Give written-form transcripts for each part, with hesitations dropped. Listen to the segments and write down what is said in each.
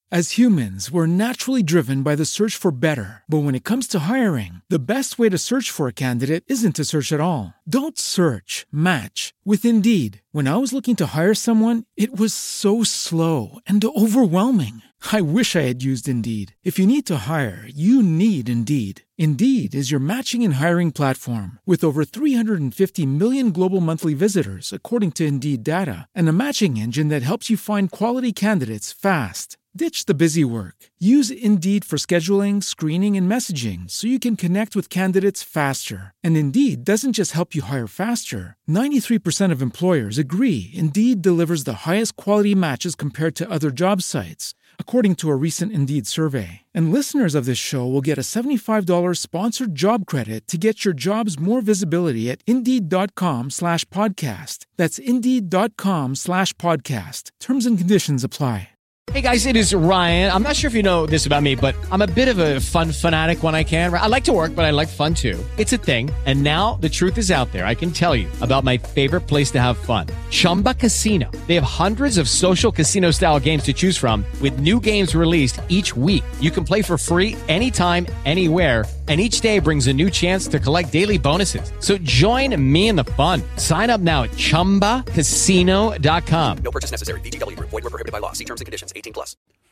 As humans, we're naturally driven by the search for better. But when it comes to hiring, the best way to search for a candidate isn't to search at all. Don't search, match with Indeed. When I was looking to hire someone, it was so slow and overwhelming. I wish I had used Indeed. If you need to hire, you need Indeed. Indeed is your matching and hiring platform with over 350 million global monthly visitors, according to Indeed data, and a matching engine that helps you find quality candidates fast. Ditch the busy work. Use Indeed for scheduling, screening, and messaging so you can connect with candidates faster. And Indeed doesn't just help you hire faster. 93% of employers agree Indeed delivers the highest quality matches compared to other job sites, according to a recent Indeed survey. And listeners of this show will get a $75 sponsored job credit to get your jobs more visibility at Indeed.com/podcast. That's Indeed.com/podcast. Terms and conditions apply. Hey guys, it is Ryan. I'm not sure if you know this about me, but I'm a bit of a fun fanatic when I can. I like to work, but I like fun too. It's a thing. And now the truth is out there. I can tell you about my favorite place to have fun. Chumba Casino. They have hundreds of social casino style games to choose from with new games released each week. You can play for free anytime, anywhere. And each day brings a new chance to collect daily bonuses. So join me in the fun. Sign up now at ChumbaCasino.com. No purchase necessary. VGW Group. Void where prohibited by law. See terms and conditions. 18+.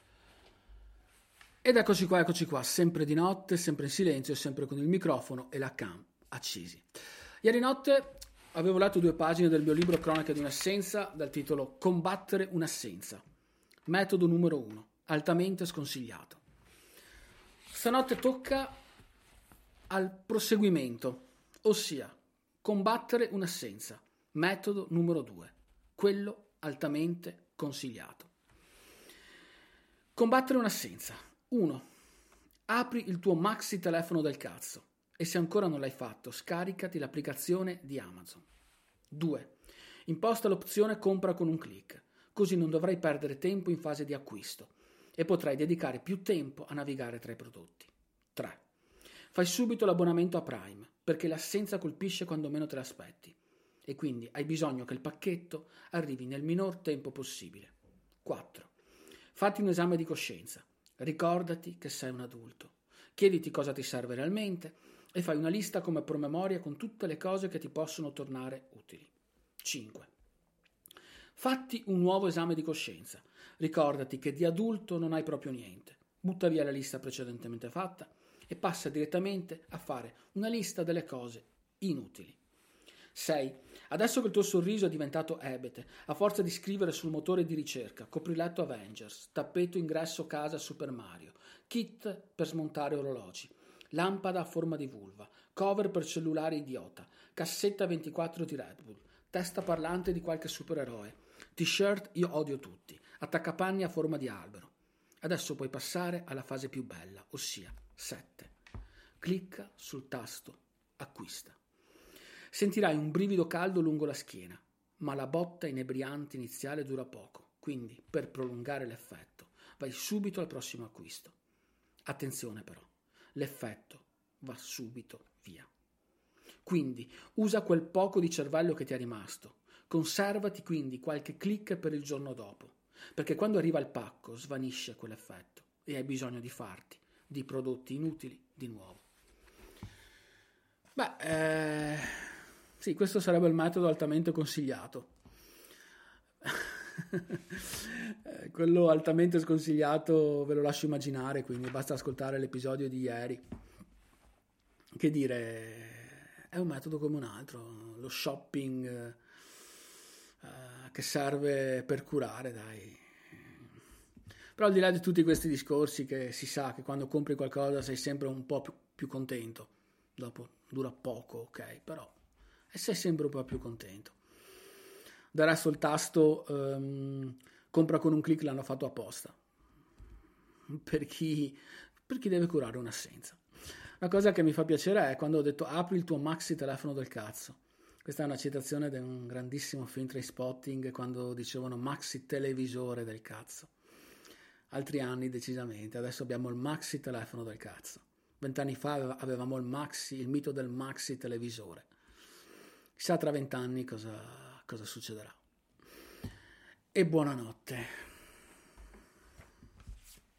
Ed eccoci qua, sempre di notte, sempre in silenzio, sempre con il microfono e la cam accesi. Ieri notte avevo letto 2 pagine del mio libro Cronache di un'assenza dal titolo Combattere un'assenza. Metodo numero 1, altamente sconsigliato. Stanotte tocca al proseguimento, ossia combattere un'assenza. Metodo numero 2, quello altamente consigliato. Combattere un'assenza. 1. Apri il tuo maxi telefono del cazzo e se ancora non l'hai fatto, scaricati l'applicazione di Amazon. 2. Imposta l'opzione compra con un click, così non dovrai perdere tempo in fase di acquisto e potrai dedicare più tempo a navigare tra i prodotti. 3. Fai subito l'abbonamento a Prime, perché l'assenza colpisce quando meno te l'aspetti e quindi hai bisogno che il pacchetto arrivi nel minor tempo possibile. 4. Fatti un esame di coscienza, ricordati che sei un adulto, chiediti cosa ti serve realmente e fai una lista come promemoria con tutte le cose che ti possono tornare utili. 5. Fatti un nuovo esame di coscienza, ricordati che di adulto non hai proprio niente, butta via la lista precedentemente fatta e passa direttamente a fare una lista delle cose inutili. 6. Adesso che il tuo sorriso è diventato ebete, a forza di scrivere sul motore di ricerca, copriletto Avengers, tappeto ingresso casa Super Mario, kit per smontare orologi, lampada a forma di vulva, cover per cellulare idiota, cassetta 24 di Red Bull, testa parlante di qualche supereroe, t-shirt io odio tutti, attaccapanni a forma di albero. Adesso puoi passare alla fase più bella, ossia 7. Clicca sul tasto acquista. Sentirai un brivido caldo lungo la schiena, ma la botta inebriante iniziale dura poco, quindi per prolungare l'effetto vai subito al prossimo acquisto. Attenzione però, l'effetto va subito via. Quindi usa quel poco di cervello che ti è rimasto, conservati quindi qualche click per il giorno dopo, perché quando arriva il pacco svanisce quell'effetto e hai bisogno di farti di prodotti inutili di nuovo. Sì, questo sarebbe il metodo altamente consigliato. Quello altamente sconsigliato ve lo lascio immaginare, quindi basta ascoltare l'episodio di ieri. Che dire, è un metodo come un altro, lo shopping che serve per curare, dai. Però al di là di tutti questi discorsi, che si sa che quando compri qualcosa sei sempre un po' più contento, dopo dura poco, ok, però e sei sempre un po' più contento. Del resto il tasto compra con un click l'hanno fatto apposta per chi deve curare un'assenza. Una cosa che mi fa piacere è quando ho detto apri il tuo maxi telefono del cazzo. Questa è una citazione di un grandissimo film Trainspotting, quando dicevano maxi televisore del cazzo. Altri anni decisamente, adesso abbiamo il maxi telefono del cazzo. 20 anni fa avevamo il mito del maxi televisore. Chissà tra 20 anni cosa succederà. E buonanotte.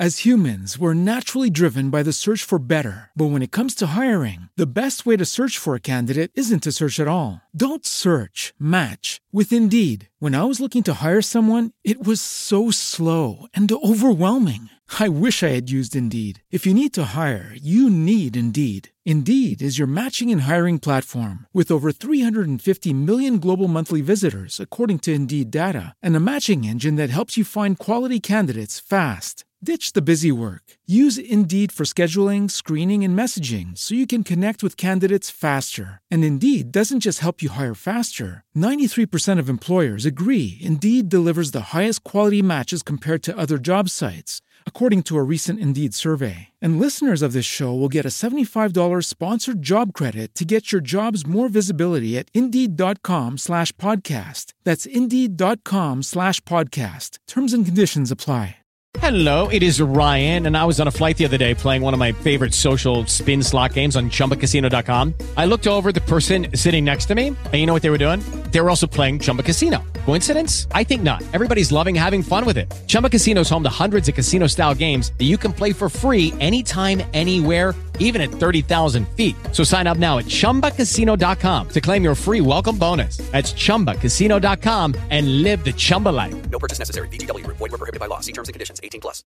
As humans, we're naturally driven by the search for better. But when it comes to hiring, the best way to search for a candidate isn't to search at all. Don't search, match with Indeed. When I was looking to hire someone, it was so slow and overwhelming. I wish I had used Indeed. If you need to hire, you need Indeed. Indeed is your matching and hiring platform with over 350 million global monthly visitors, according to Indeed data, and a matching engine that helps you find quality candidates fast. Ditch the busy work. Use Indeed for scheduling, screening, and messaging so you can connect with candidates faster. And Indeed doesn't just help you hire faster. 93% of employers agree Indeed delivers the highest quality matches compared to other job sites, according to a recent Indeed survey. And listeners of this show will get a $75 sponsored job credit to get your jobs more visibility at Indeed.com/podcast. That's Indeed.com/podcast. Terms and conditions apply. Hello, it is Ryan, and I was on a flight the other day playing one of my favorite social spin slot games on ChumbaCasino.com. I looked over at the person sitting next to me, and you know what they were doing? They were also playing Chumba Casino. Coincidence? I think not. Everybody's loving having fun with it. Chumba Casino is home to hundreds of casino-style games that you can play for free anytime, anywhere, even at 30,000 feet. So sign up now at ChumbaCasino.com to claim your free welcome bonus. That's ChumbaCasino.com and live the Chumba life. No purchase necessary. VGW Group. Void where prohibited by law. See terms and conditions. 18+.